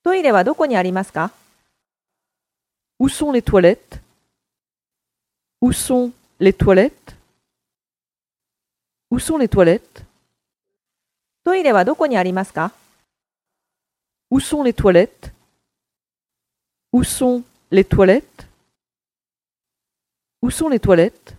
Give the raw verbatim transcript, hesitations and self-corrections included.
トイレはどこにありますか？ Où sont les toilettes? Où sont les toilettes? Où sont les toilettes? トイレはどこにありますか？ Où sont les toilettes? Où sont les toilettes? Où sont les toilettes?